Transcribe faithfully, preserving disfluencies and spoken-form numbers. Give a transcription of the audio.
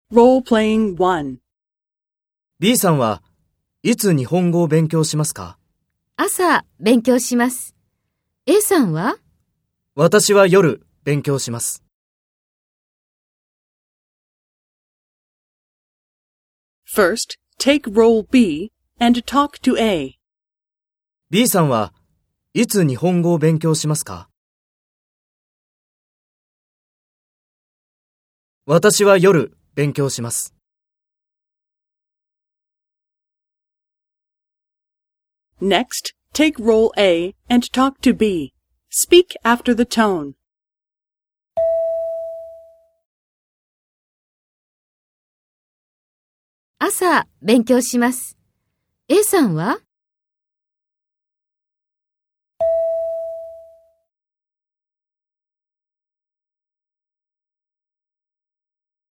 Role-playing one. B さんはいつ日本語を勉強しますか？ 朝勉強します。A さんは？ 私は夜勉強します。 First, take role B and talk to A. B さんはいつ日本語を勉強しますか？私は夜勉強します。 Next, take role A and talk to B. Speak after the tone. 朝勉強します。A さんは？